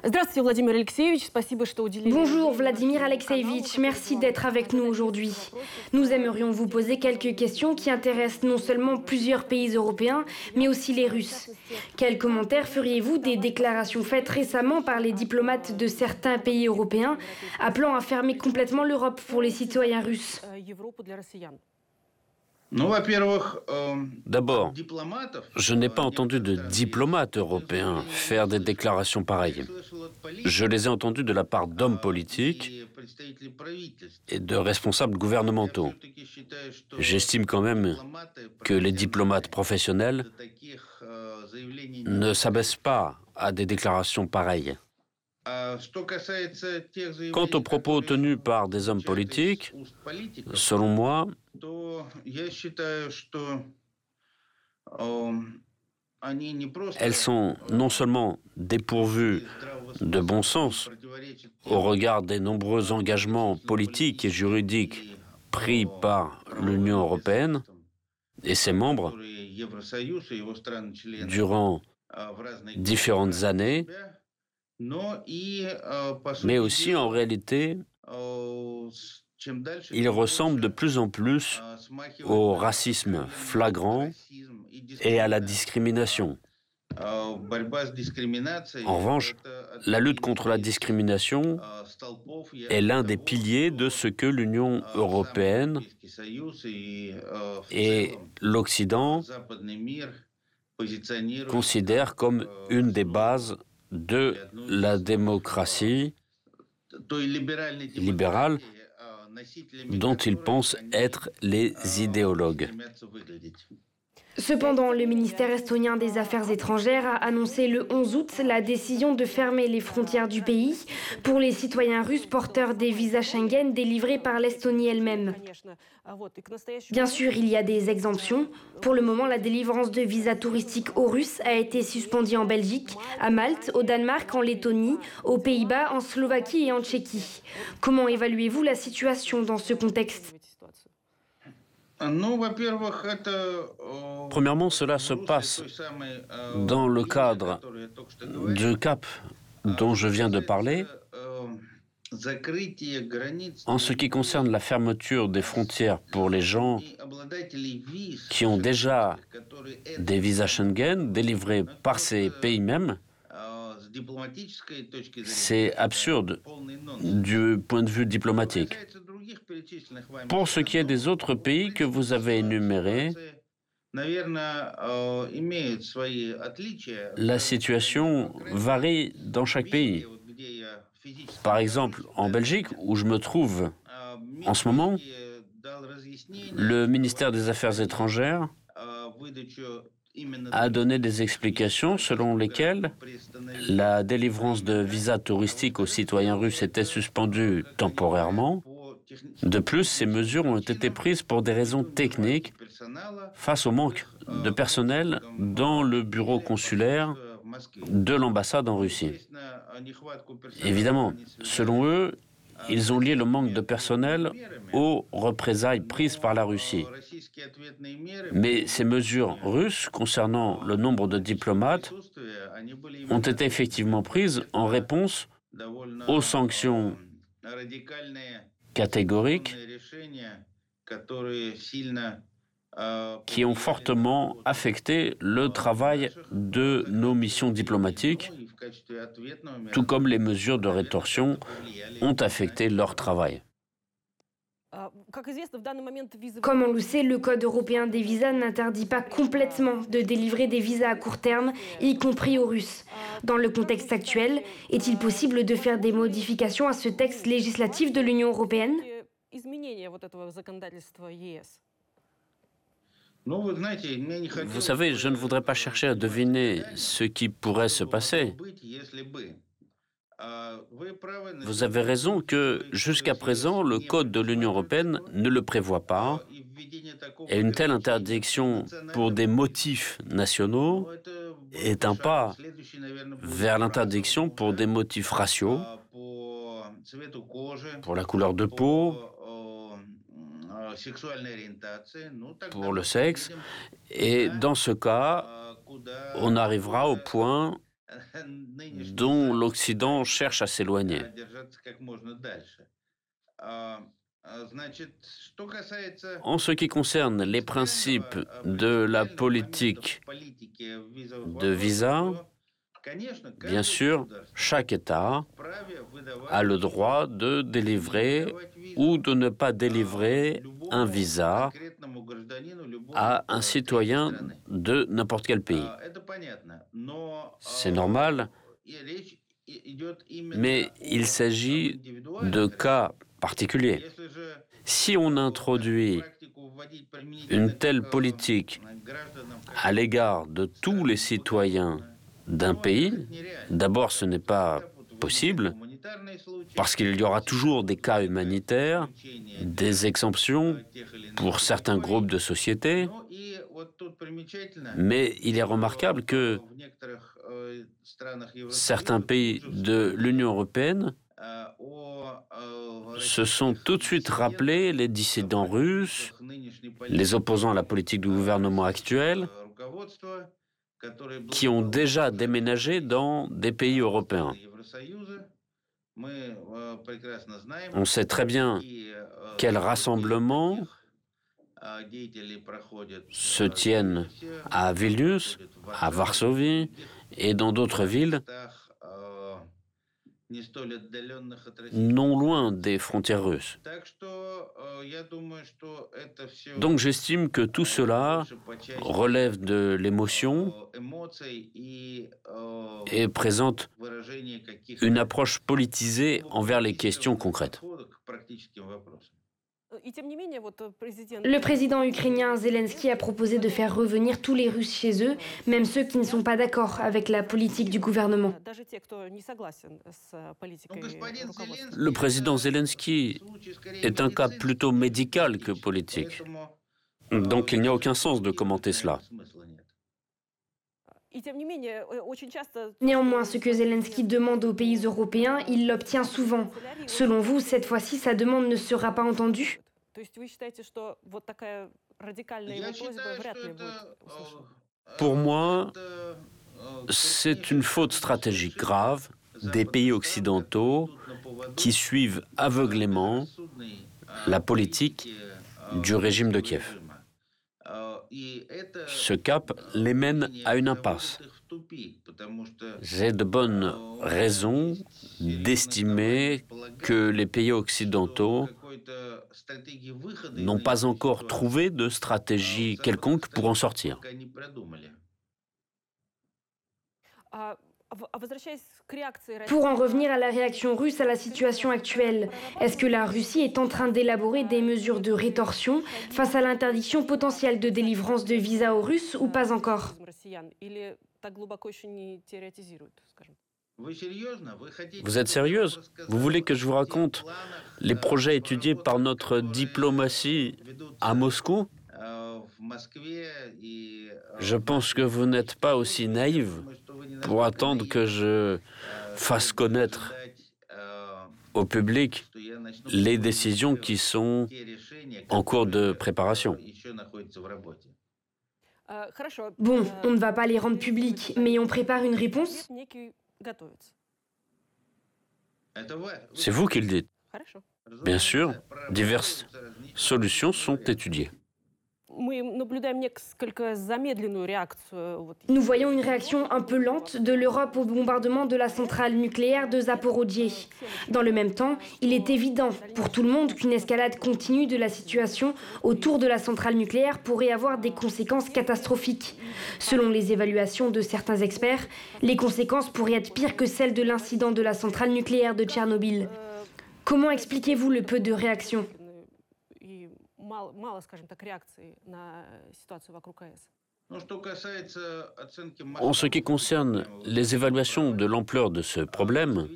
Здравствуйте, Владимир Алексеевич. Спасибо, что уделили. Bonjour Vladimir Alexeevitch, merci d'être avec nous aujourd'hui. Nous aimerions vous poser quelques questions qui intéressent non seulement plusieurs pays européens, mais aussi les Russes. Quels commentaires feriez-vous des déclarations faites récemment par les diplomates de certains pays européens appelant à fermer complètement l'Europe pour les citoyens russes? D'abord, je n'ai pas entendu de diplomates européens faire des déclarations pareilles. Je les ai entendus de la part d'hommes politiques et de responsables gouvernementaux. J'estime quand même que les diplomates professionnels ne s'abaissent pas à des déclarations pareilles. Quant aux propos tenus par des hommes politiques, selon moi, elles sont non seulement dépourvues de bon sens au regard des nombreux engagements politiques et juridiques pris par l'Union européenne et ses membres durant différentes années, mais aussi en réalité, il ressemble de plus en plus au racisme flagrant et à la discrimination. En revanche, la lutte contre la discrimination est l'un des piliers de ce que l'Union européenne et l'Occident considèrent comme une des bases de la démocratie libérale dont ils pensent être les idéologues. Cependant, le ministère estonien des Affaires étrangères a annoncé le 11 août la décision de fermer les frontières du pays pour les citoyens russes porteurs des visas Schengen délivrés par l'Estonie elle-même. Bien sûr, il y a des exemptions. Pour le moment, la délivrance de visas touristiques aux Russes a été suspendue en Belgique, à Malte, au Danemark, en Lettonie, aux Pays-Bas, en Slovaquie et en Tchéquie. Comment évaluez-vous la situation dans ce contexte ? Premièrement, cela se passe dans le cadre du cap dont je viens de parler. En ce qui concerne la fermeture des frontières pour les gens qui ont déjà des visas Schengen délivrés par ces pays mêmes, c'est absurde du point de vue diplomatique. Pour ce qui est des autres pays que vous avez énumérés, la situation varie dans chaque pays. Par exemple, en Belgique, où je me trouve en ce moment, le ministère des Affaires étrangères a donné des explications selon lesquelles la délivrance de visas touristiques aux citoyens russes était suspendue temporairement. De plus, ces mesures ont été prises pour des raisons techniques face au manque de personnel dans le bureau consulaire de l'ambassade en Russie. Évidemment, selon eux, ils ont lié le manque de personnel aux représailles prises par la Russie. Mais ces mesures russes concernant le nombre de diplomates ont été effectivement prises en réponse aux sanctions catégoriques qui ont fortement affecté le travail de nos missions diplomatiques, tout comme les mesures de rétorsion ont affecté leur travail. Comme on le sait, le Code européen des visas n'interdit pas complètement de délivrer des visas à court terme, y compris aux Russes. Dans le contexte actuel, est-il possible de faire des modifications à ce texte législatif de l'Union européenne ? Vous savez, je ne voudrais pas chercher à deviner ce qui pourrait se passer. Vous avez raison que, jusqu'à présent, le Code de l'Union européenne ne le prévoit pas, et une telle interdiction pour des motifs nationaux est un pas vers l'interdiction pour des motifs raciaux, pour la couleur de peau, pour le sexe, et dans ce cas, on arrivera au point dont l'Occident cherche à s'éloigner. En ce qui concerne les principes de la politique de visa, bien sûr, chaque État a le droit de délivrer ou de ne pas délivrer un visa à un citoyen de n'importe quel pays. C'est normal, mais il s'agit de cas particuliers. Si on introduit une telle politique à l'égard de tous les citoyens d'un pays, d'abord ce n'est pas possible, parce qu'il y aura toujours des cas humanitaires, des exemptions pour certains groupes de sociétés, mais il est remarquable que certains pays de l'Union européenne se sont tout de suite rappelés les dissidents russes, les opposants à la politique du gouvernement actuel, qui ont déjà déménagé dans des pays européens. On sait très bien quels rassemblements se tiennent à Vilnius, à Varsovie et dans d'autres villes non loin des frontières russes. Donc j'estime que tout cela relève de l'émotion et présente une approche politisée envers les questions concrètes. Le président ukrainien Zelensky a proposé de faire revenir tous les Russes chez eux, même ceux qui ne sont pas d'accord avec la politique du gouvernement. Le président Zelensky est un cas plutôt médical que politique. Donc il n'y a aucun sens de commenter cela. Néanmoins, ce que Zelensky demande aux pays européens, il l'obtient souvent. Selon vous, cette fois-ci, sa demande ne sera pas entendue ? Pour moi, c'est une faute stratégique grave des pays occidentaux qui suivent aveuglément la politique du régime de Kiev. Ce cap les mène à une impasse. J'ai de bonnes raisons d'estimer que les pays occidentaux n'ont pas encore trouvé de stratégie quelconque pour en sortir. Pour en revenir à la réaction russe à la situation actuelle, est-ce que la Russie est en train d'élaborer des mesures de rétorsion face à l'interdiction potentielle de délivrance de visas aux Russes ou pas encore ? Vous êtes sérieuse ? Vous voulez que je vous raconte les projets étudiés par notre diplomatie à Moscou ? Je pense que vous n'êtes pas aussi naïve pour attendre que je fasse connaître au public les décisions qui sont en cours de préparation. Bon, on ne va pas les rendre publics, mais on prépare une réponse ? C'est vous qui le dites. Bien sûr, diverses solutions sont étudiées. Nous voyons une réaction un peu lente de l'Europe au bombardement de la centrale nucléaire de Zaporodje. Dans le même temps, il est évident pour tout le monde qu'une escalade continue de la situation autour de la centrale nucléaire pourrait avoir des conséquences catastrophiques. Selon les évaluations de certains experts, les conséquences pourraient être pires que celles de l'incident de la centrale nucléaire de Tchernobyl. Comment expliquez-vous le peu de réaction ? En ce qui concerne les évaluations de l'ampleur de ce problème,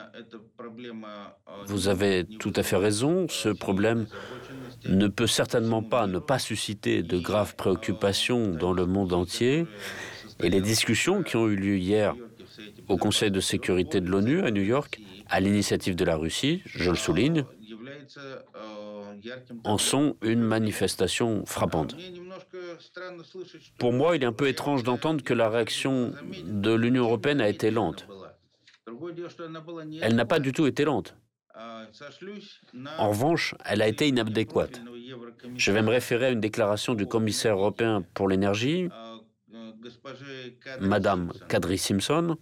vous avez tout à fait raison, ce problème ne peut certainement pas ne pas susciter de graves préoccupations dans le monde entier, et les discussions qui ont eu lieu hier au Conseil de sécurité de l'ONU à New York, à l'initiative de la Russie, je le souligne, en sont une manifestation frappante. Pour moi, il est un peu étrange d'entendre que la réaction de l'Union européenne a été lente. Elle n'a pas du tout été lente. En revanche, elle a été inadéquate. Je vais me référer à une déclaration du commissaire européen pour l'énergie, Madame Kadri Simpson,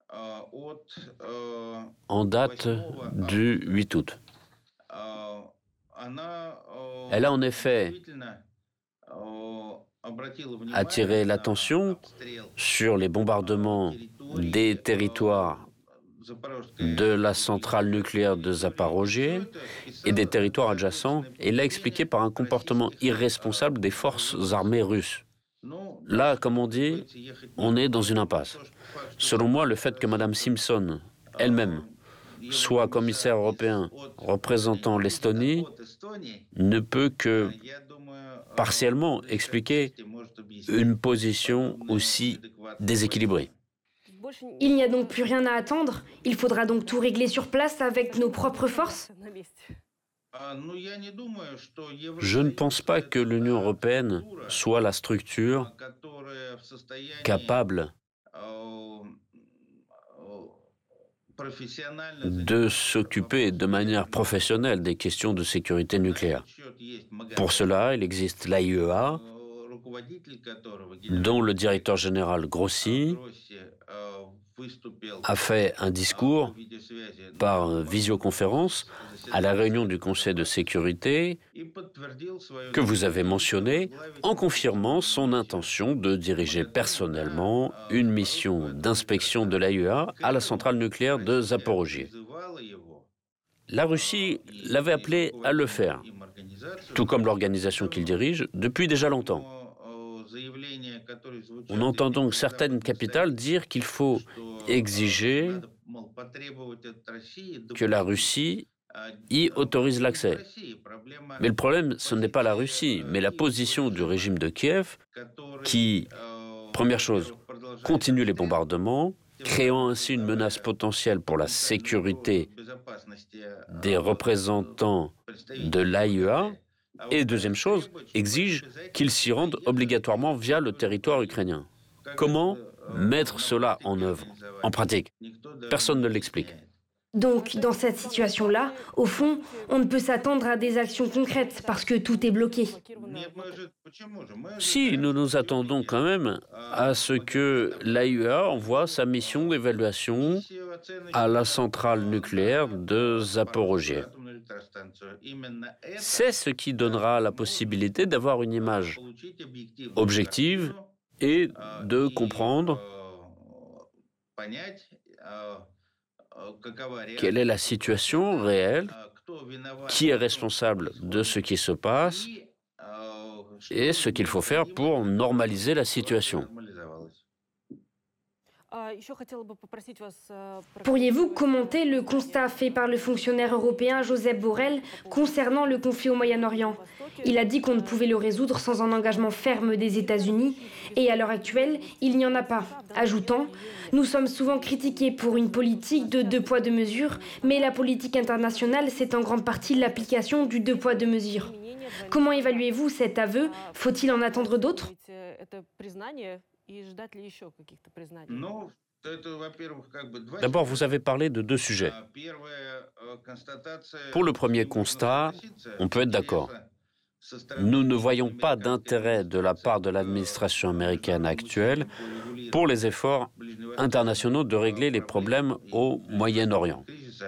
en date du 8 août. Elle a en effet attiré l'attention sur les bombardements des territoires de la centrale nucléaire de Zaporojie et des territoires adjacents, et l'a expliqué par un comportement irresponsable des forces armées russes. Là, comme on dit, on est dans une impasse. Selon moi, le fait que Mme Simpson elle-même soit commissaire européen représentant l'Estonie ne peut que partiellement expliquer une position aussi déséquilibrée. Il n'y a donc plus rien à attendre. Il faudra donc tout régler sur place avec nos propres forces. Je ne pense pas que l'Union européenne soit la structure capable de s'occuper de manière professionnelle des questions de sécurité nucléaire. Pour cela, il existe l'AIEA, dont le directeur général Grossi a fait un discours par visioconférence à la réunion du Conseil de sécurité que vous avez mentionné, en confirmant son intention de diriger personnellement une mission d'inspection de l'AIEA à la centrale nucléaire de Zaporojie. La Russie l'avait appelé à le faire, tout comme l'organisation qu'il dirige, depuis déjà longtemps. On entend donc certaines capitales dire qu'il faut exiger que la Russie y autorise l'accès. Mais le problème, ce n'est pas la Russie, mais la position du régime de Kiev qui, première chose, continue les bombardements, créant ainsi une menace potentielle pour la sécurité des représentants de l'AIEA, et deuxième chose, exige qu'ils s'y rendent obligatoirement via le territoire ukrainien. Comment mettre cela en œuvre, en pratique? Personne ne l'explique. Donc, dans cette situation-là, au fond, on ne peut s'attendre à des actions concrètes parce que tout est bloqué. Si, nous nous attendons quand même à ce que l'AIEA envoie sa mission d'évaluation à la centrale nucléaire de Zaporojie. C'est ce qui donnera la possibilité d'avoir une image objective et de comprendre quelle est la situation réelle, qui est responsable de ce qui se passe et ce qu'il faut faire pour normaliser la situation. Pourriez-vous commenter le constat fait par le fonctionnaire européen Josep Borrell concernant le conflit au Moyen-Orient? Il a dit qu'on ne pouvait le résoudre sans un engagement ferme des États-Unis, et à l'heure actuelle, il n'y en a pas. Ajoutant, nous sommes souvent critiqués pour une politique de deux poids deux mesures, mais la politique internationale, c'est en grande partie l'application du deux poids deux mesures. Comment évaluez-vous cet aveu? Faut-il en attendre d'autres? D'abord, vous avez parlé de deux sujets. Pour le premier constat, on peut être d'accord. Nous ne voyons pas d'intérêt de la part de l'administration américaine actuelle pour les efforts internationaux de régler les problèmes au Moyen-Orient.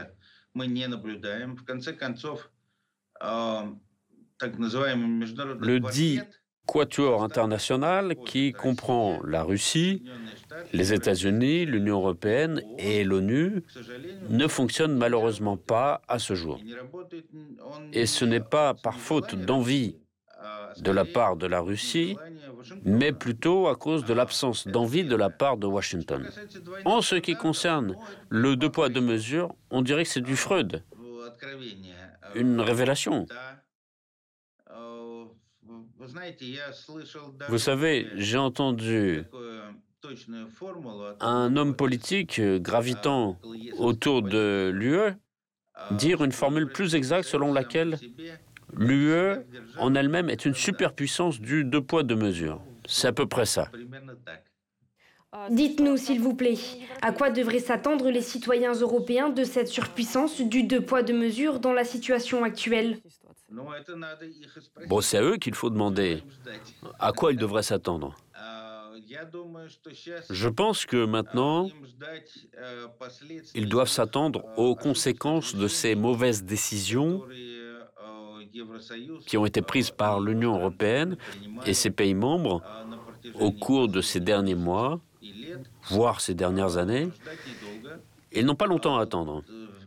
Le dit Quatuor international, qui comprend la Russie, les États-Unis, l'Union européenne et l'ONU, ne fonctionne malheureusement pas à ce jour. Et ce n'est pas par faute d'envie de la part de la Russie, mais plutôt à cause de l'absence d'envie de la part de Washington. En ce qui concerne le deux poids deux mesures, on dirait que c'est du Freud, une révélation. Vous savez, j'ai entendu un homme politique gravitant autour de l'UE dire une formule plus exacte selon laquelle L'UE en elle-même est une superpuissance du deux poids, deux mesures. C'est à peu près ça. Dites-nous, s'il vous plaît, à quoi devraient s'attendre les citoyens européens de cette surpuissance du deux poids, deux mesures dans la situation actuelle? Bon, c'est à eux qu'il faut demander à quoi ils devraient s'attendre. Je pense que maintenant, ils doivent s'attendre aux conséquences de ces mauvaises décisions qui ont été prises par l'Union européenne et ses pays membres au cours de ces derniers mois, voire ces dernières années. Ils n'ont pas longtemps à attendre.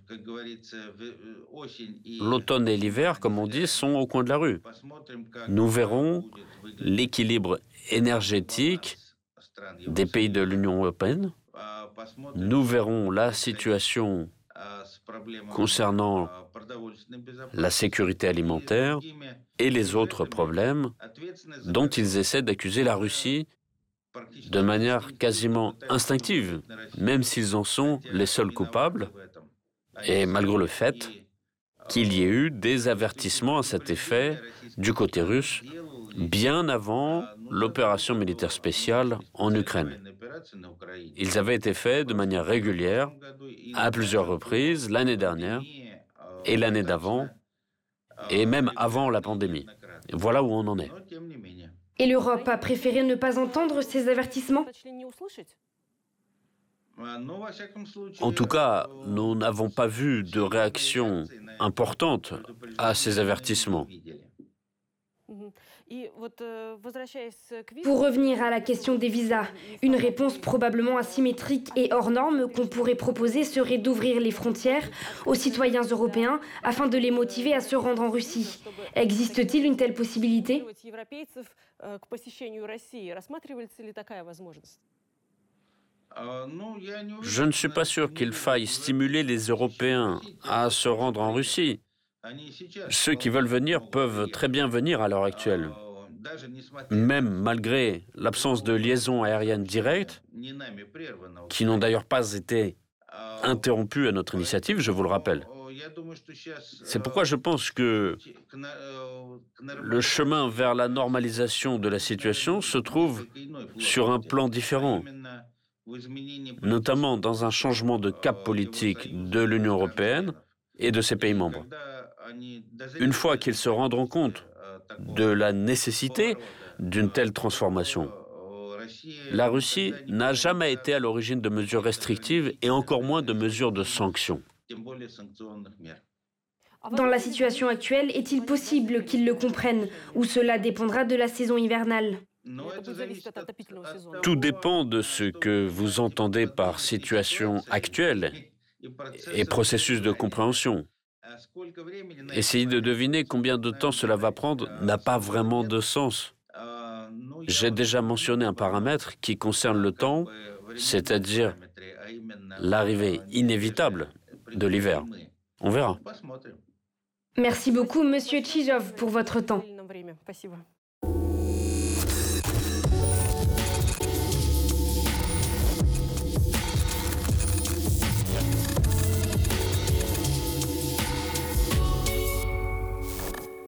L'automne et l'hiver, comme on dit, sont au coin de la rue. Nous verrons l'équilibre énergétique des pays de l'Union européenne. Nous verrons la situation concernant la sécurité alimentaire et les autres problèmes dont ils essaient d'accuser la Russie de manière quasiment instinctive, même s'ils en sont les seuls coupables, et malgré le fait qu'il y ait eu des avertissements à cet effet du côté russe bien avant l'opération militaire spéciale en Ukraine. Ils avaient été faits de manière régulière, à plusieurs reprises, l'année dernière et l'année d'avant, et même avant la pandémie. Voilà où on en est. Et l'Europe a préféré ne pas entendre ces avertissements? En tout cas, nous n'avons pas vu de réaction importante à ces avertissements. Pour revenir à la question des visas, une réponse probablement asymétrique et hors norme qu'on pourrait proposer serait d'ouvrir les frontières aux citoyens européens afin de les motiver à se rendre en Russie. Existe-t-il une telle possibilité? Je ne suis pas sûr qu'il faille stimuler les Européens à se rendre en Russie. Ceux qui veulent venir peuvent très bien venir à l'heure actuelle. Même malgré l'absence de liaisons aériennes directes, qui n'ont d'ailleurs pas été interrompues à notre initiative, je vous le rappelle. C'est pourquoi je pense que le chemin vers la normalisation de la situation se trouve sur un plan différent, notamment dans un changement de cap politique de l'Union européenne et de ses pays membres. Une fois qu'ils se rendront compte de la nécessité d'une telle transformation, la Russie n'a jamais été à l'origine de mesures restrictives et encore moins de mesures de sanctions. Dans la situation actuelle, est-il possible qu'ils le comprennent ou cela dépendra de la saison hivernale? Tout dépend de ce que vous entendez par situation actuelle et processus de compréhension. Essayer de deviner combien de temps cela va prendre n'a pas vraiment de sens. J'ai déjà mentionné un paramètre qui concerne le temps, c'est-à-dire l'arrivée inévitable de l'hiver. On verra. Merci beaucoup, Monsieur Tchijov, pour votre temps.